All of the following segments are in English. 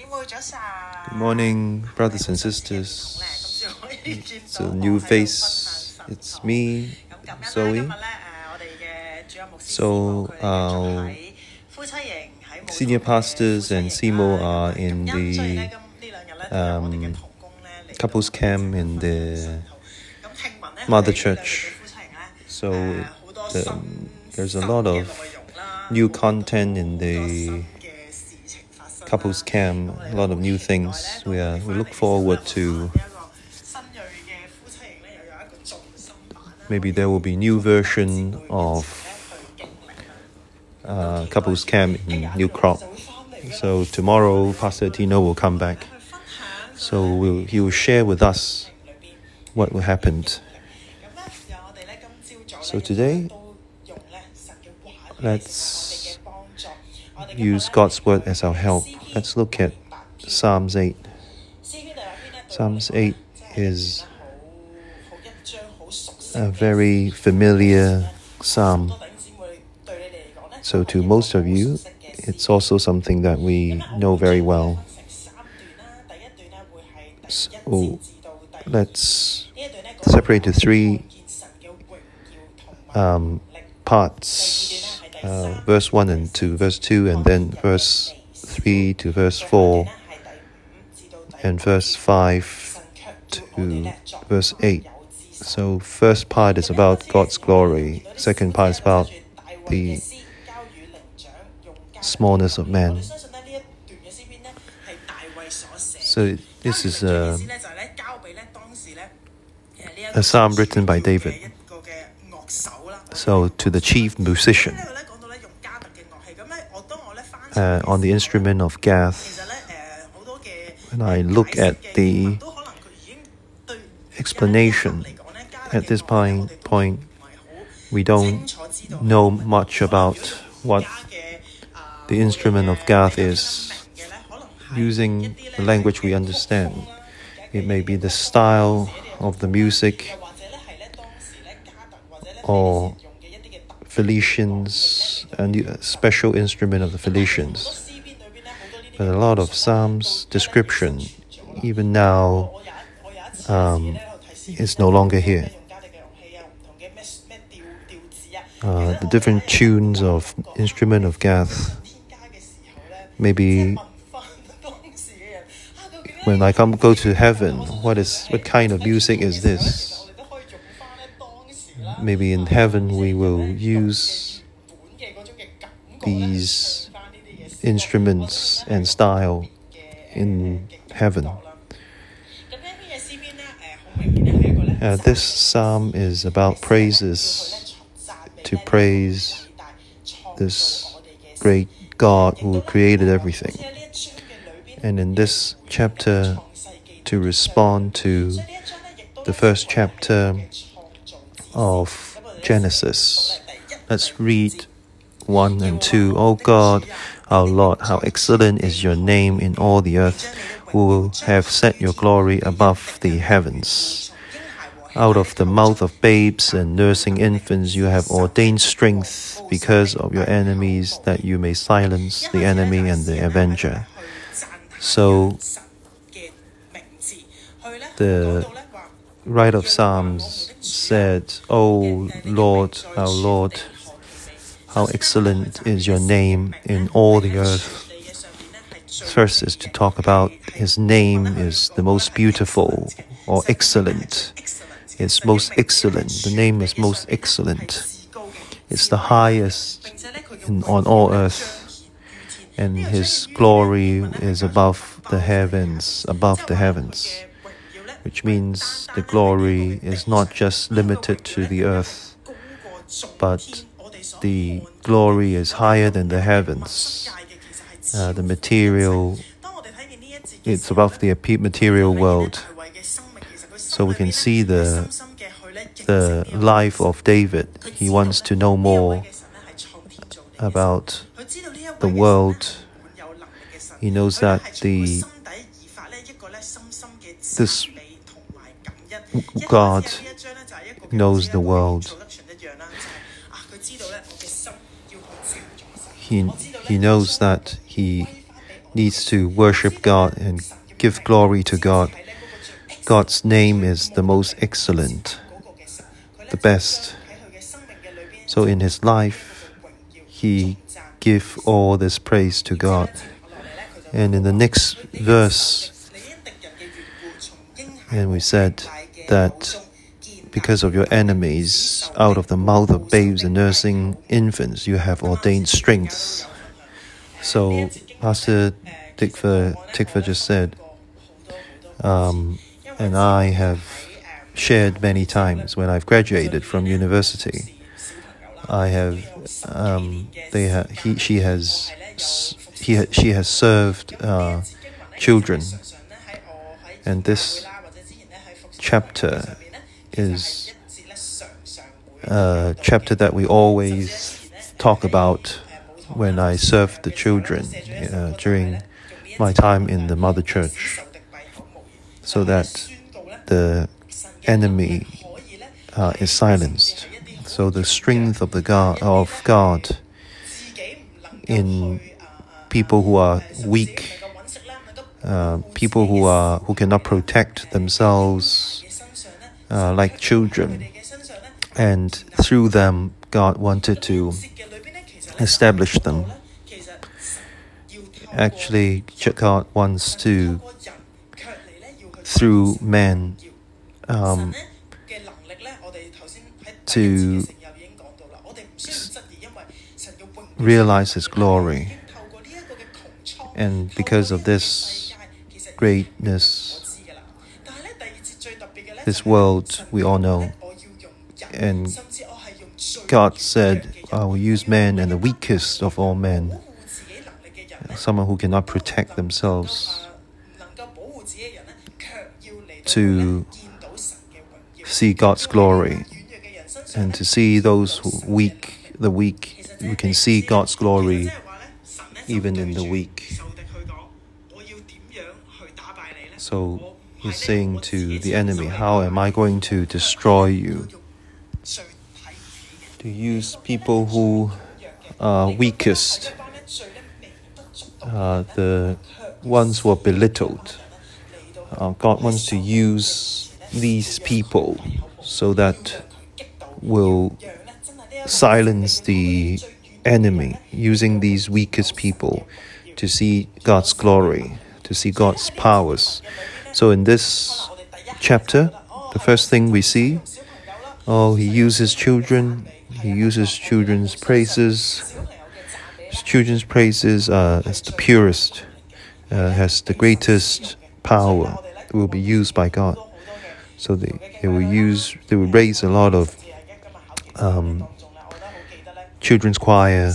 Good morning, brothers and sisters. It's a new face. It's me, Zoe. So our senior pastors and CMO are in the couples camp in the mother church. So there's a lot of new content in the couples camp, a lot of new things. We look forward to maybe there will be new version of couples camp in New Crop. So tomorrow Pastor Tino will come back. So he will share with us what will happen. So today, let's use God's word as our help. Let's look at Psalms 8. Psalms 8 is a very familiar psalm. So to most of you, it's also something that we know very well. So let's separate the three parts, verse 1 and 2, verse 2, and then verse 3 to verse 4, and verse 5 to verse 8. So first part is about God's glory, second part is about the smallness of man. So this is a psalm written by David. So to the chief musician on the instrument of Gath. When I look at the explanation at this point, we don't know much about what the instrument of Gath is. Using the language we understand, it may be the style of the music or Felicians, and a special instrument of the Felicians. But a lot of Psalms description, even now, is no longer here. The different tunes of instrument of Gath, maybe when I go to heaven, what kind of music is this? Maybe in heaven we will use these instruments and style in heaven. This psalm is about praises, to praise this great God who created everything. And in this chapter, to respond to the first chapter of Genesis. Let's read 1 and 2. O God, our Lord, how excellent is your name in all the earth, who have set your glory above the heavens. Out of the mouth of babes and nursing infants you have ordained strength because of your enemies, that you may silence the enemy and the avenger. So the writer of Psalms said, O Lord, our Lord, how excellent is your name in all the earth. First is to talk about his name is the most beautiful or excellent. It's most excellent. The name is most excellent. It's the highest on all earth. And his glory is above the heavens, which means the glory is not just limited to the earth, but the glory is higher than the heavens. The material, it's above the material world. So we can see the life of David. He wants to know more about the world. He knows that this God knows the world. He knows that he needs to worship God and give glory to God. God's name is the most excellent, the best. So in his life, he give all this praise to God. And in the next verse, and we said that because of your enemies, out of the mouth of babes and nursing infants, you have ordained strength. So Pastor Tikva just said, and I have shared many times when I've graduated from university, she has served children, and this chapter is a chapter that we always talk about when I served the children during my time in the Mother Church, so that the enemy is silenced. So the strength of God in people who are weak, people who cannot protect themselves, like children, and through them God wanted to establish them. Actually, God wants to, through men, to realize his glory. And because of this greatness, this world we all know, and God said, I will use man and the weakest of all men, someone who cannot protect themselves, to see God's glory, and to see those the weak, we can see God's glory even in the weak. So he's saying to the enemy, how am I going to destroy you? To use people who are weakest, the ones who are belittled. God wants to use these people so that will silence the enemy, using these weakest people to see God's glory, to see God's powers. So in this chapter, the first thing we see, he uses children, he uses children's praises. Children's praises is the purest, has the greatest power, will be used by God. So they will raise a lot of children's choir.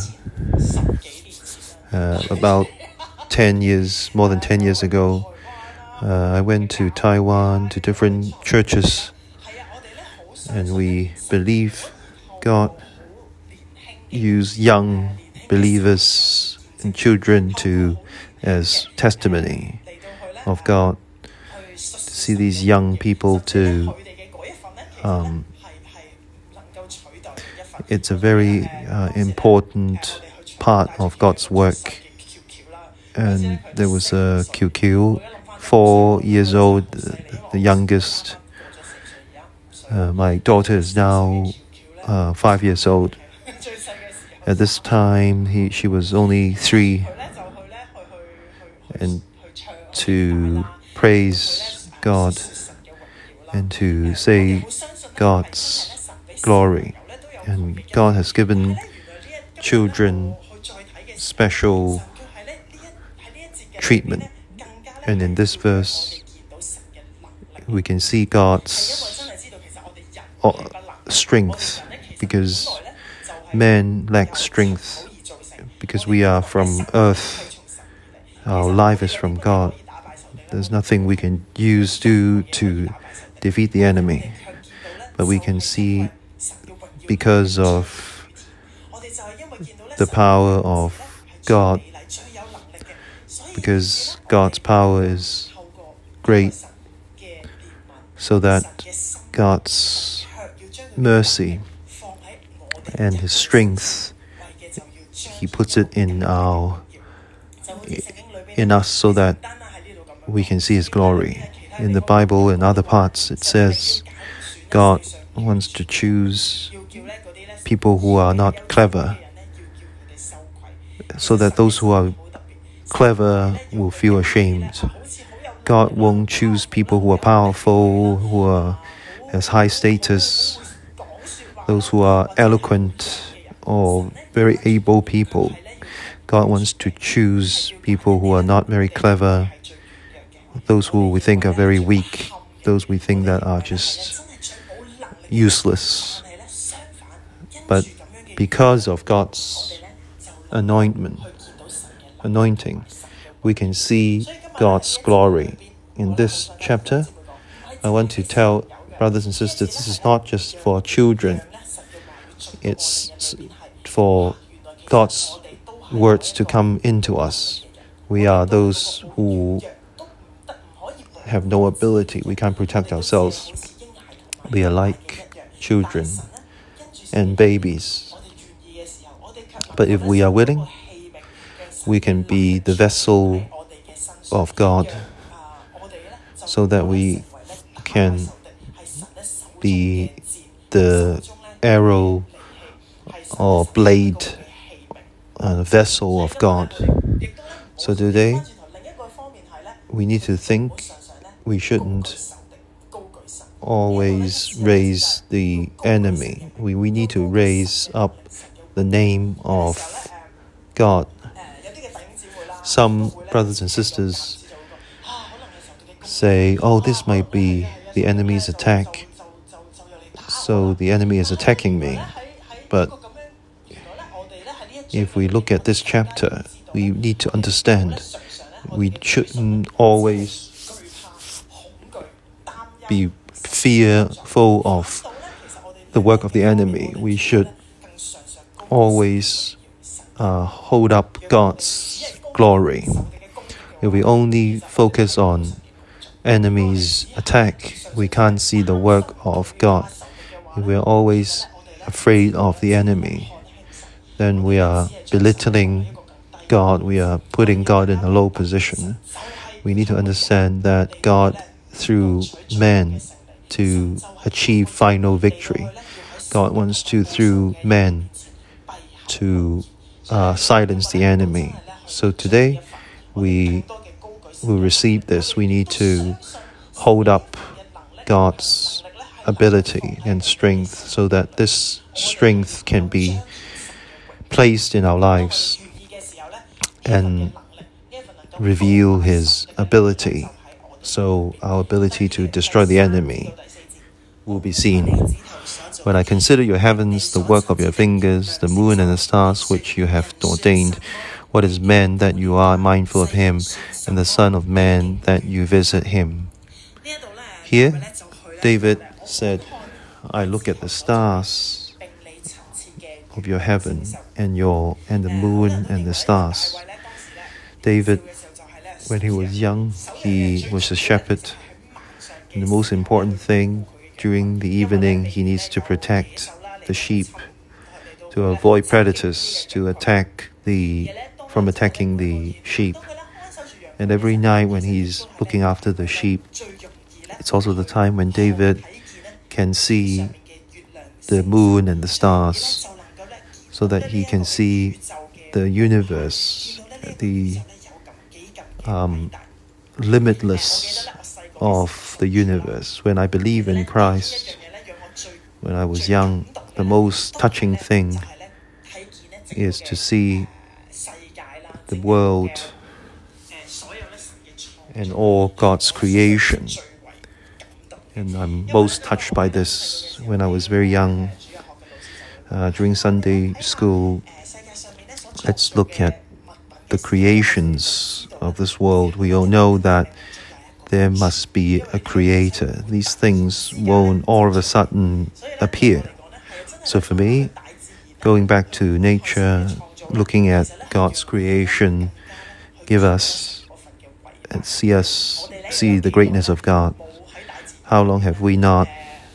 About more than 10 years ago, I went to Taiwan, to different churches, and we believe God used young believers and children as testimony of God. To see these young people it's a very important part of God's work. And there was a QQ, 4 years old, the youngest. My daughter is now 5 years old. At this time, she was only 3. And to praise God and to say God's glory. And God has given children special treatment. And in this verse, we can see God's strength, because men lack strength, because we are from earth. Our life is from God. There's nothing we can use to defeat the enemy. But we can see, because of the power of God, because God's power is great, so that God's mercy and His strength, He puts it in in us so that we can see His glory. In the Bible and other parts, it says God wants to choose people who are not clever, so that those who are clever will feel ashamed. God won't choose people who are powerful, who has high status, those who are eloquent or very able people. God wants to choose people who are not very clever, those who we think are very weak, those we think that are just useless. But because of God's anointing, we can see God's glory. In this chapter, I want to tell brothers and sisters, this is not just for children. It's for God's words to come into us. We are those who have no ability. We can't protect ourselves. We are like children and babies. But if we are willing, we can be the vessel of God, so that we can be the arrow or blade vessel of God. So today, we need to think we shouldn't always raise the enemy. We need to raise up the name of God. Some brothers and sisters say, oh, this might be the enemy's attack, so the enemy is attacking me. But if we look at this chapter, we need to understand we shouldn't always be fearful of the work of the enemy. We should always hold up God's glory. If we only focus on enemy's attack, we can't see the work of God. If we're always afraid of the enemy, then we are belittling God. We are putting God in a low position. We need to understand that God, through man, to achieve final victory. God wants to, through man, to silence the enemy. So today, we will receive this. We need to hold up God's ability and strength, so that this strength can be placed in our lives and reveal His ability, so our ability to destroy the enemy will be seen. When I consider your heavens, the work of your fingers, the moon and the stars which you have ordained, what is man that you are mindful of him, and the Son of Man that you visit him? Here, David said, I look at the stars of your heaven and the moon and the stars. David, when he was young, he was a shepherd. And the most important thing, during the evening, he needs to protect the sheep, to avoid predators, to from attacking the sheep. And every night when he's looking after the sheep, it's also the time when David can see the moon and the stars, so that he can see the universe, the limitless of the universe. When I believe in Christ, when I was young, the most touching thing is to see the world and all God's creation. And I'm most touched by this. When I was very young, during Sunday school, let's look at the creations of this world. We all know that there must be a creator. These things won't all of a sudden appear. So for me, going back to nature, looking at God's creation, give us and see the greatness of God. How long have we not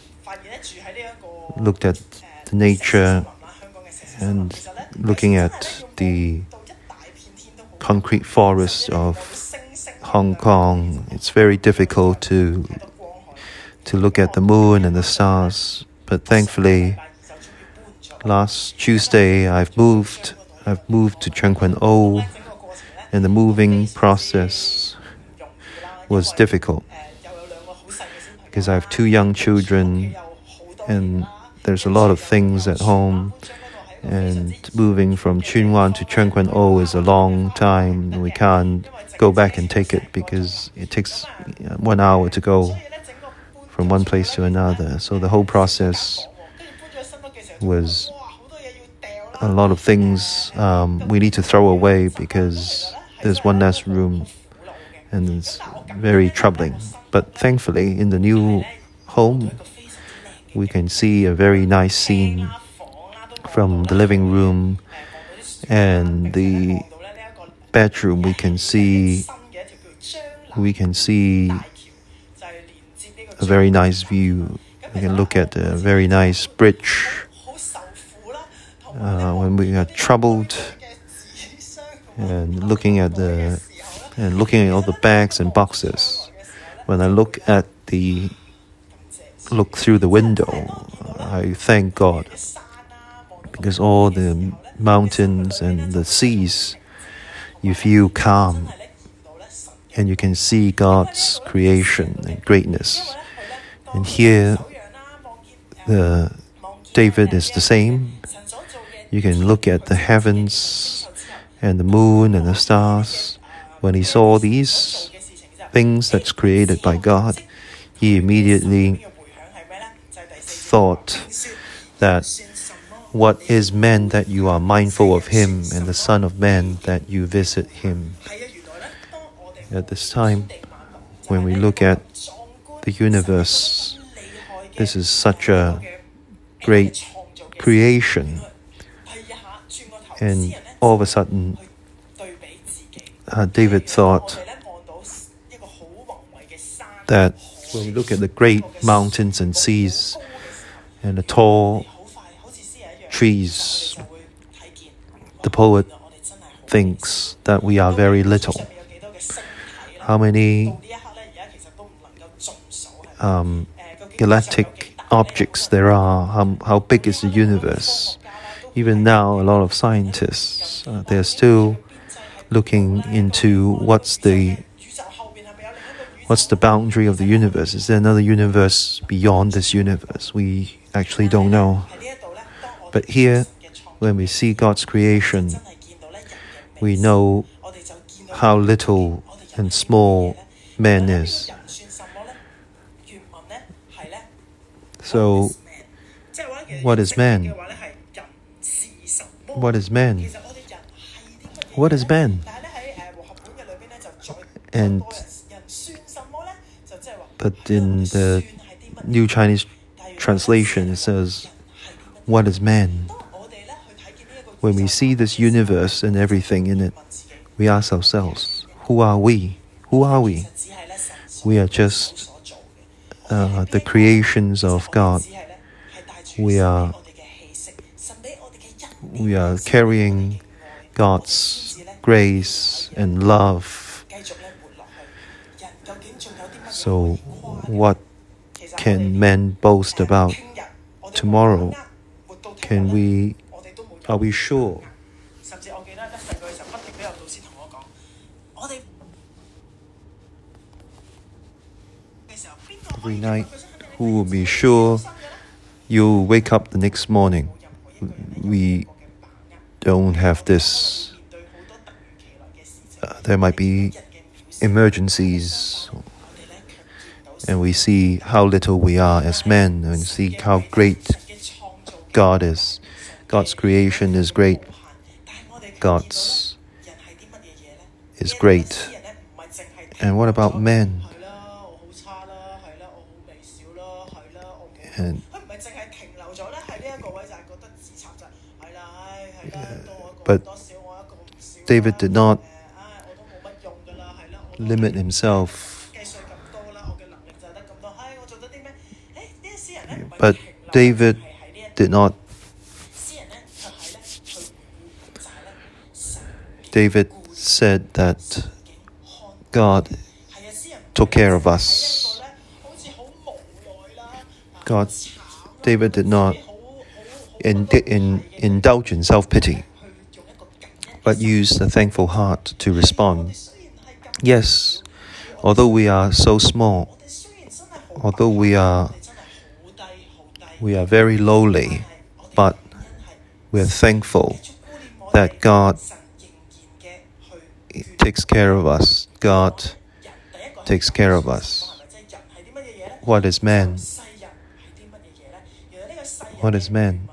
looked at the nature and looking at the concrete forest of Hong Kong, it's very difficult to look at the moon and the stars. But thankfully, last Tuesday I've moved to Tseung Kwan O, and the moving process was difficult because I have 2 young children and there's a lot of things at home, and moving from Tsuen Wan to Tseung Kwan O is a long time. We can't go back and take it because it takes 1 hour to go from one place to another. So the whole process was a lot of things we need to throw away because there's one less room, and it's very troubling. But thankfully, in the new home, we can see a very nice scene from the living room and the bedroom. We can see a very nice view. We can look at a very nice bridge. When we are troubled and looking at all the bags and boxes, when I look through the window, I thank God, because all the mountains and the seas, you feel calm and you can see God's creation and greatness. And here, David is the same. You can look at the heavens and the moon and the stars. When he saw these things that's created by God, he immediately thought that what is man that you are mindful of him, and the Son of Man that you visit him. At this time, when we look at the universe, this is such a great creation. And all of a sudden, David thought that when we look at the great mountains and seas and the tall trees, the poet thinks that we are very little. How many galactic objects there are, how big is the universe? Even now, a lot of scientists, they're still looking into what's the boundary of the universe. Is there another universe beyond this universe? We actually don't know. But here, when we see God's creation, we know how little and small man is. So, what is man? What is man? What is man? But in the New Chinese translation, it says, what is man? When we see this universe and everything in it, we ask ourselves, who are we? Who are we? We are just the creations of God. We are carrying God's grace and love. So what can men boast about tomorrow? Are we sure? Every night, who will be sure you'll wake up the next morning? We don't have this. There might be emergencies, and we see how little we are as men, and see how great God is. God's creation is great. God's is great. And what about men? And but David did not limit himself. But David did not. David said that God took care of us. David did not indulge in self-pity, but used a thankful heart to respond. Yes, although we are so small, although we are very lowly, but we are thankful that God takes care of us. God takes care of us. What is man? What is man?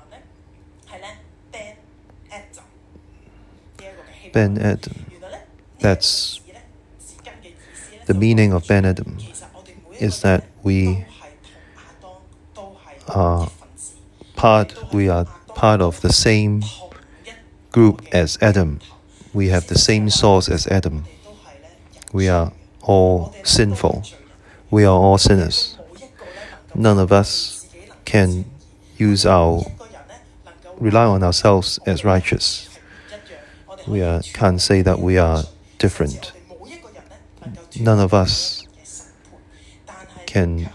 Ben Adam. That's the meaning of Ben Adam, is that we are part of the same group as Adam. We have the same source as Adam. We are all sinful. We are all sinners. None of us can rely on ourselves as righteous. We can't say that we are different. None of us can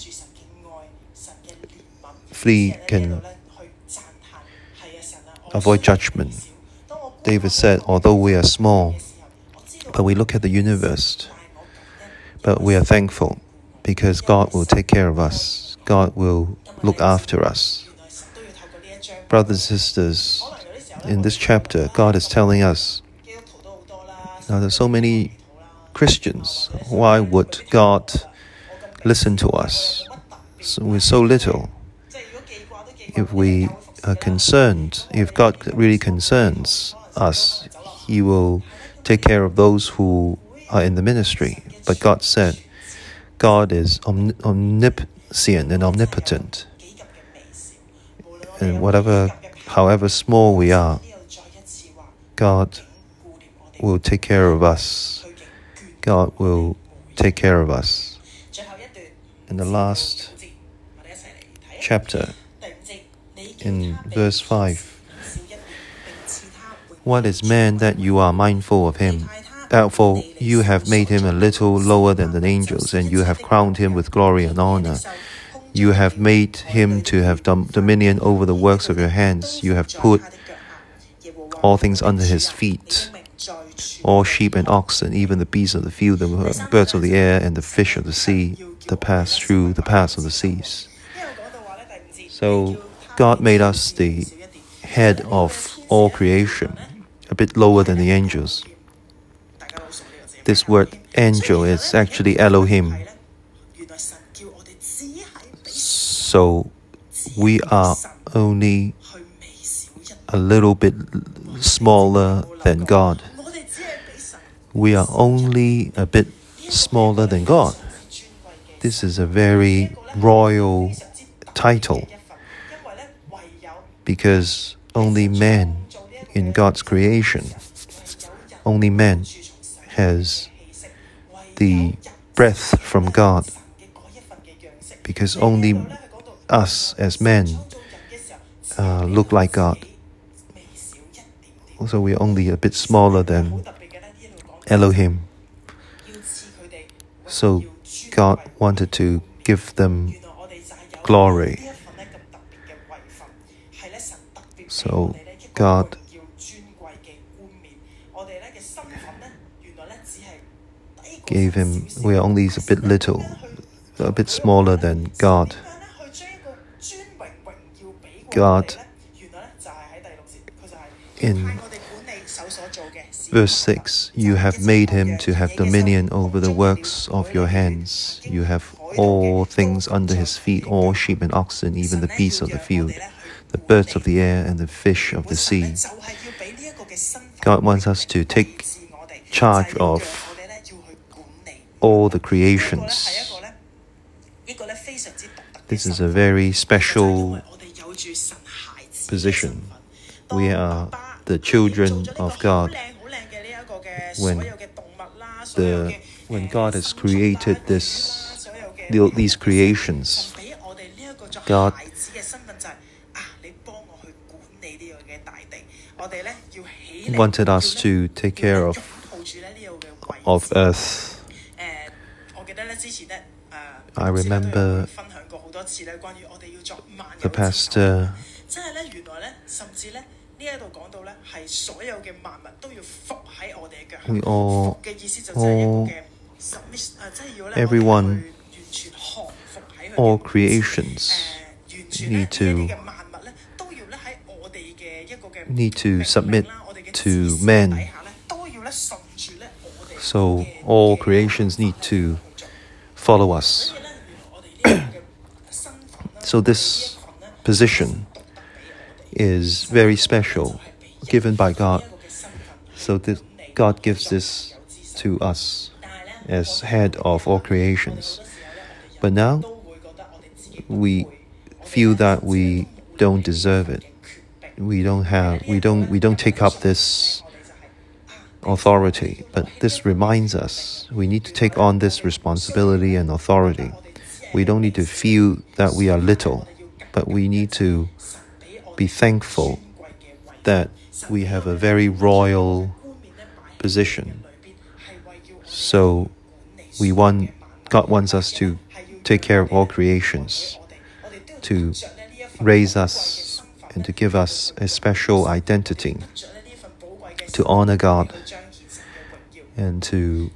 avoid judgment. David said, although we are small, but we look at the universe, but we are thankful because God will take care of us. God will look after us. Brothers and sisters, in this chapter, God is telling us, now there's so many Christians, why would God listen to us? We're so little. If we are concerned, if God really concerns us, He will take care of those who are in the ministry. But God said, God is omniscient and omnipotent. And however small we are, God will take care of us. God will take care of us. In the last chapter, in verse 5, what is man that you are mindful of him? Therefore, you have made him a little lower than the angels, and you have crowned him with glory and honor. You have made him to have dominion over the works of your hands. You have put all things under his feet, all sheep and oxen, even the beasts of the field, the birds of the air, and the fish of the sea, that pass through the paths of the seas. So God made us the head of all creation, a bit lower than the angels. This word angel is actually Elohim. So we are only a little bit smaller than God. We are only a bit smaller than God. This is a very royal title, because only man in God's creation, only man has the breath from God, because only us as men look like God. So we are only a bit smaller than Elohim. So God wanted to give them glory. So God gave him, we are only a bit little, a bit smaller than God. God, in verse 6, you have made him to have dominion over the works of your hands. You have all things under his feet, all sheep and oxen, even the beasts of the field, the birds of the air, and the fish of the sea. God wants us to take charge of all the creations. This is a very special position. We are the children of God. When God has created these creations, God wanted us to take care of of earth. I remember the pastor everyone, all creations need to submit to man. So all creations need to follow us. So this position is very special, given by God. So God gives this to us as head of all creations. But now we feel that we don't deserve it. We don't take up this authority. But this reminds us we need to take on this responsibility and authority. We don't need to feel that we are little, but we need to be thankful that we have a very royal position. So God wants us to take care of all creations, to raise us and to give us a special identity, to honor God, and to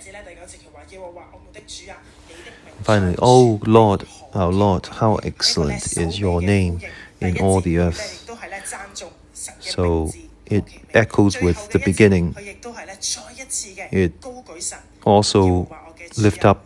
finally, oh Lord, our Lord, how excellent is your name in all the earth. So it echoes with the beginning. It also lift up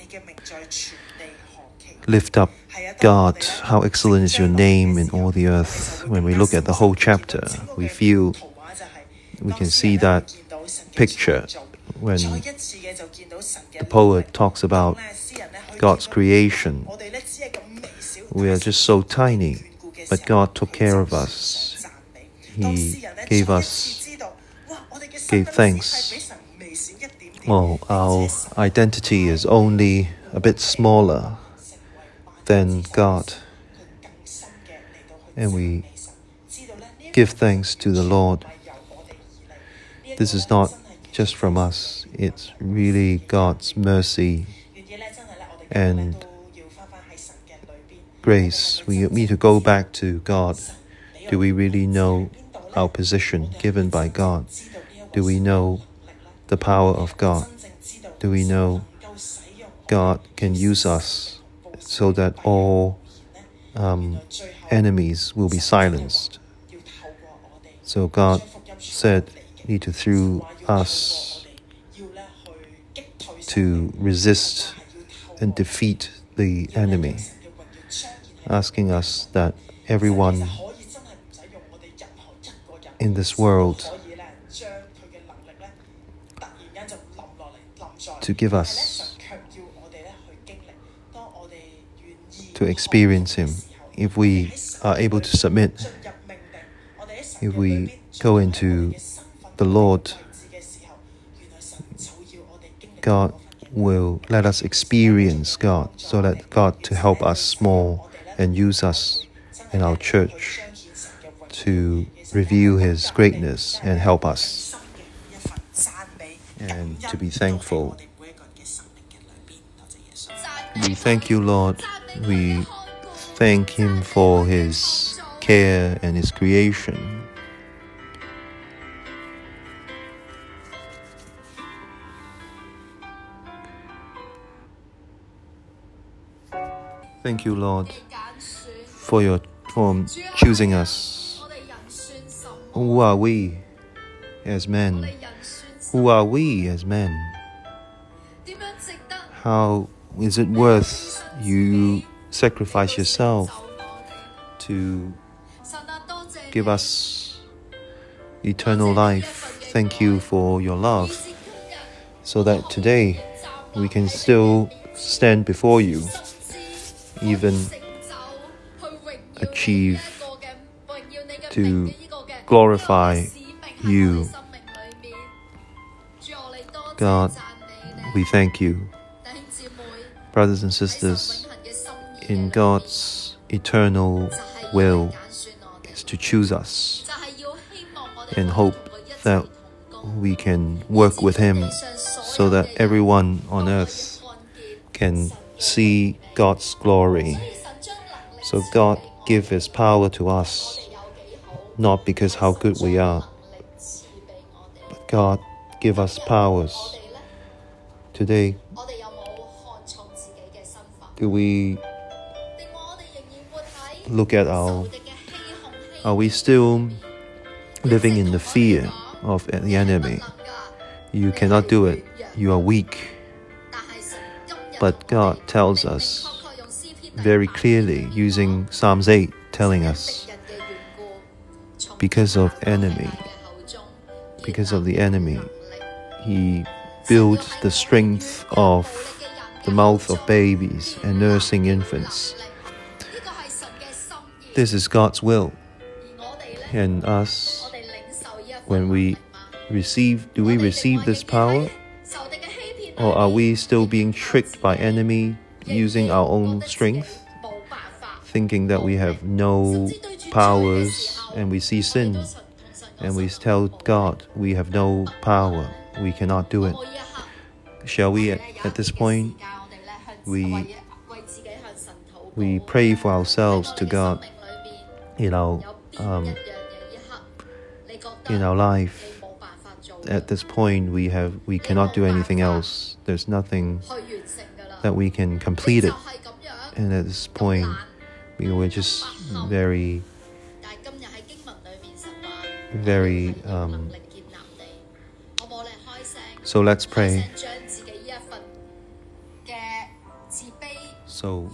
God, how excellent is your name in all the earth. When we look at the whole chapter, we can see that picture when the poet talks about God's creation. We are just so tiny, but God took care of us. He gave thanks. Well, our identity is only a bit smaller than God, and we give thanks to the Lord. This is not just from us, it's really God's mercy and grace. We need to go back to God. Do we really know our position given by God? Do we know the power of God? Do we know God can use us so that all enemies will be silenced? So God said, need to through us to resist and defeat the enemy, asking us that everyone in this world to give us, to experience Him. If we are able to submit, if we go into the Lord, God will let us experience God, so that God to help us more and use us in our church to reveal His greatness and help us, and to be thankful. We thank you, Lord. We thank Him for His care and His creation. Thank you, Lord, for choosing us. Who are we as men? Who are we as men? How is it worth you sacrifice yourself to give us eternal life? Thank you for your love, so that today we can still stand before you, even achieve to glorify you. God, we thank you. Brothers and sisters, in God's eternal will is to choose us and hope that we can work with Him so that everyone on earth can see God's glory. So God give His power to us, not because how good we are, but God give us powers. Today, do we look at are we still living in the fear of the enemy? You cannot do it. You are weak. But God tells us very clearly, using Psalms 8, telling us, because of the enemy, He builds the strength of the mouth of babies and nursing infants. This is God's will. And us, when do we receive this power? Or are we still being tricked by enemy, using our own strength, thinking that we have no powers, and we see sin, and we tell God we have no power, we cannot do it? Shall we, at this point, we pray for ourselves to God in our life. At this point, we cannot do anything else. There's nothing that we can complete it. And at this point, we were just very so let's pray. So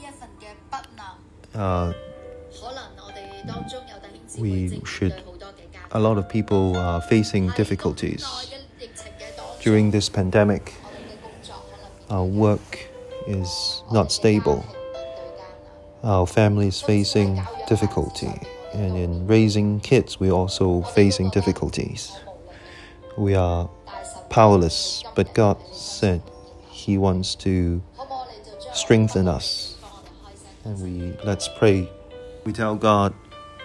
a lot of people are facing difficulties during this pandemic. Our work is not stable. Our family is facing difficulty. And in raising kids, we're also facing difficulties. We are powerless, but God said He wants to strengthen us. And let's pray. We tell God,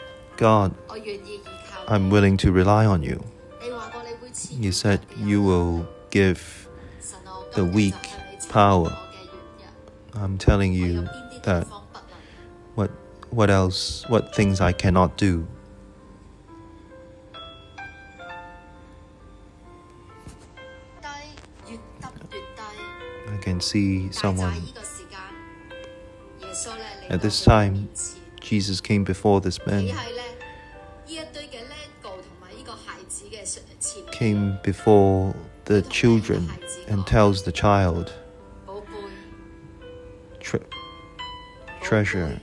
I'm willing to rely on you. You said you will give the weak power. I'm telling you that what things I cannot do. I can see someone. At this time, Jesus came before this man, came before the children and tells the child, treasure,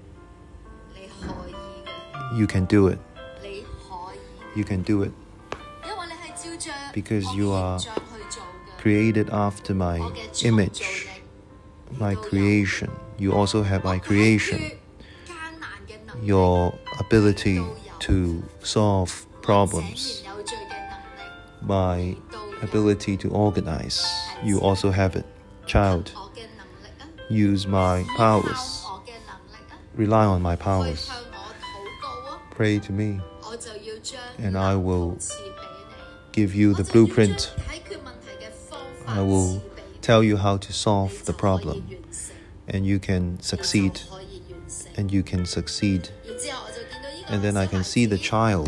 you can do it. You can do it. Because you are created after my image, my creation. You also have my creation. Your ability to solve problems, my ability to organize, you also have it. Child, use my powers. Rely on my powers. Pray to me, and I will give you the blueprint. I will tell you how to solve the problem, and you can succeed. And you can succeed. And then I can see the child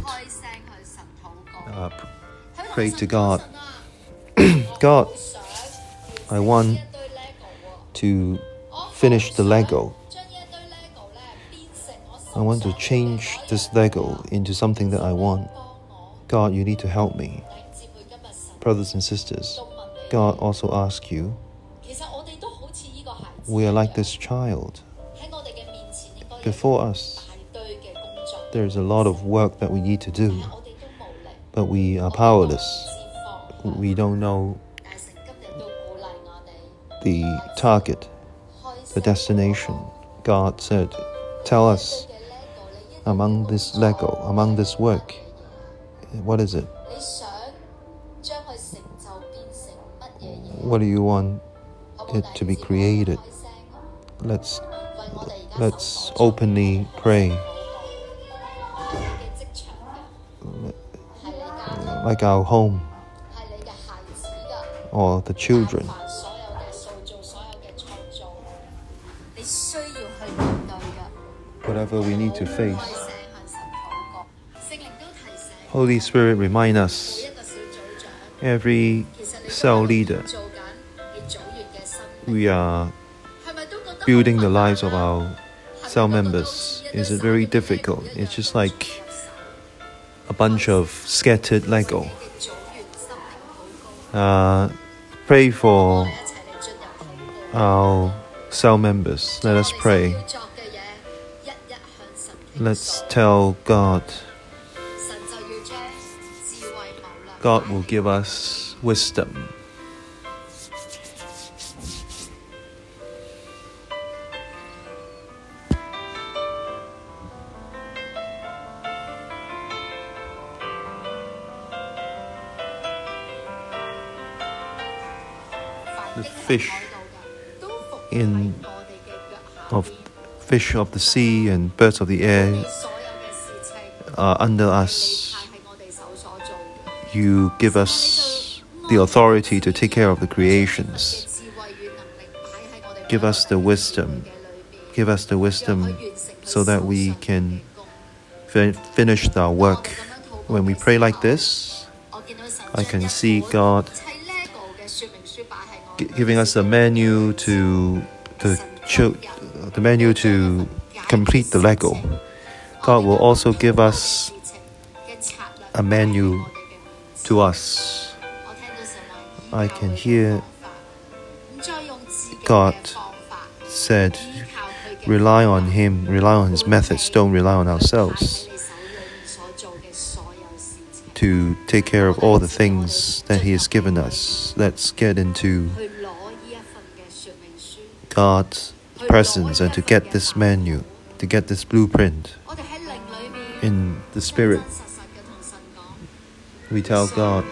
pray to God. God, I want to finish the Lego. I want to change this Lego into something that I want. God, you need to help me. Brothers and sisters, God also asks you, we are like this child. Before us, there's a lot of work that we need to do, but we are powerless. We don't know the target, the destination. God said, tell us, among this Lego, among this work, what is it? What do you want it to be created? Let's openly pray. Like our home, or the children. Whatever we need to face, Holy Spirit remind us, every cell leader, we are building the lives of our cell members. Is it very difficult? It's just like a bunch of scattered Lego. Pray for our cell members. Let us pray. Let's tell God. God will give us wisdom. The fish of the sea and birds of the air are under us. You give us the authority to take care of the creations. Give us the wisdom. Give us the wisdom so that we can finish our work. When we pray like this, I can see God giving us a menu to complete the Lego. God will also give us a menu to us. I can hear God said, rely on Him, rely on His methods, don't rely on ourselves to take care of all the things that He has given us. Let's get into God's presence and to get this menu, to get this blueprint in the Spirit. We tell God,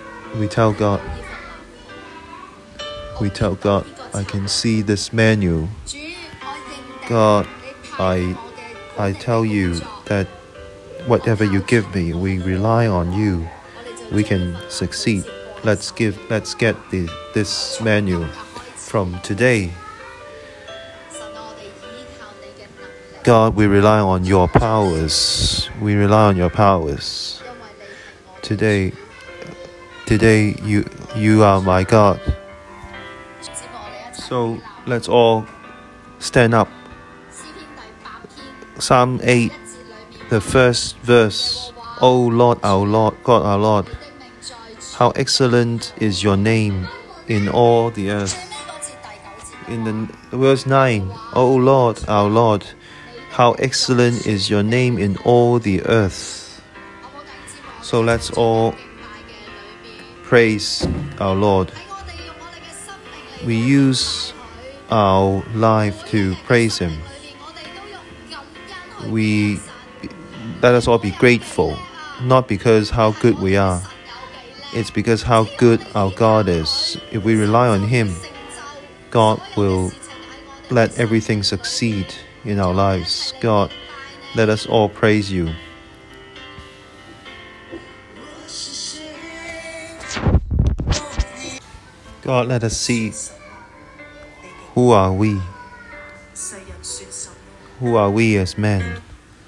I can see this menu. God, I tell you that whatever you give me, we rely on you. We can succeed. Let's get this menu from today. God, we rely on your powers. We rely on your powers. Today you are my God. So let's all stand up. Psalm 8, the first verse. O Lord, our Lord, God our Lord, how excellent is your name in all the earth. In the verse 9, O Lord, our Lord, how excellent is your name in all the earth. So let's all praise our Lord. We use our life to praise Him. Let us all be grateful, not because how good we are. It's because how good our God is. If we rely on Him, God will let everything succeed in our lives. God, let us all praise you. God, let us see who are we? Who are we as men?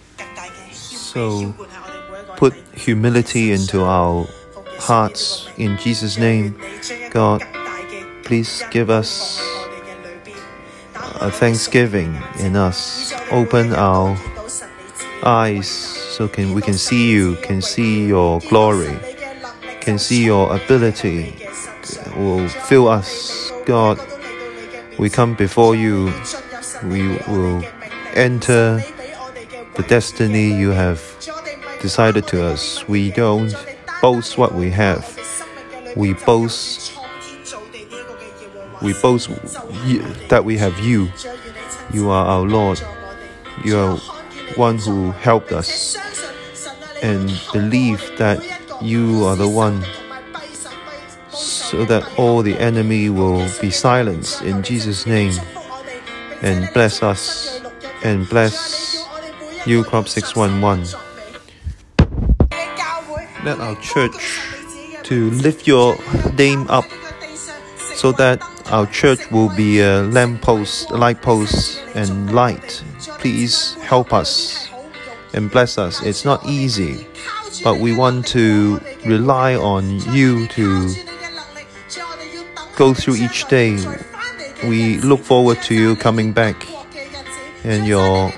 So put humility into our hearts in Jesus' name. God, please give us a thanksgiving in us. Open our eyes so we can see you, can see your glory, can see your ability. Will fill us. God, we come before you. We will enter the destiny you have decided to us. We don't boast what we have. We boast that we have you. You are our Lord. You are one who helped us. And believe that you are the one, so that all the enemy will be silenced in Jesus' name. And bless us and bless New Crop 611. Let our church to lift your name up so that our church will be a lamppost, light post, and light. Please help us and bless us. It's not easy, but we want to rely on you to go through each day. We look forward to you coming back, and your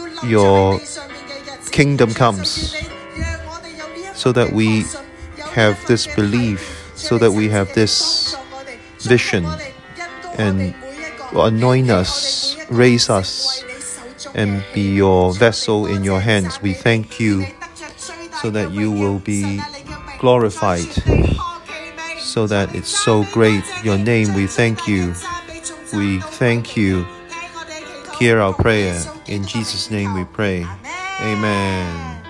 kingdom comes, so that we have this belief, so that we have this vision, and anoint us, raise us, and be your vessel in your hands. We thank you, so that you will be glorified, so that it's so great. Your name, we thank you. We thank you. Hear our prayer. In Jesus' name we pray. Amen.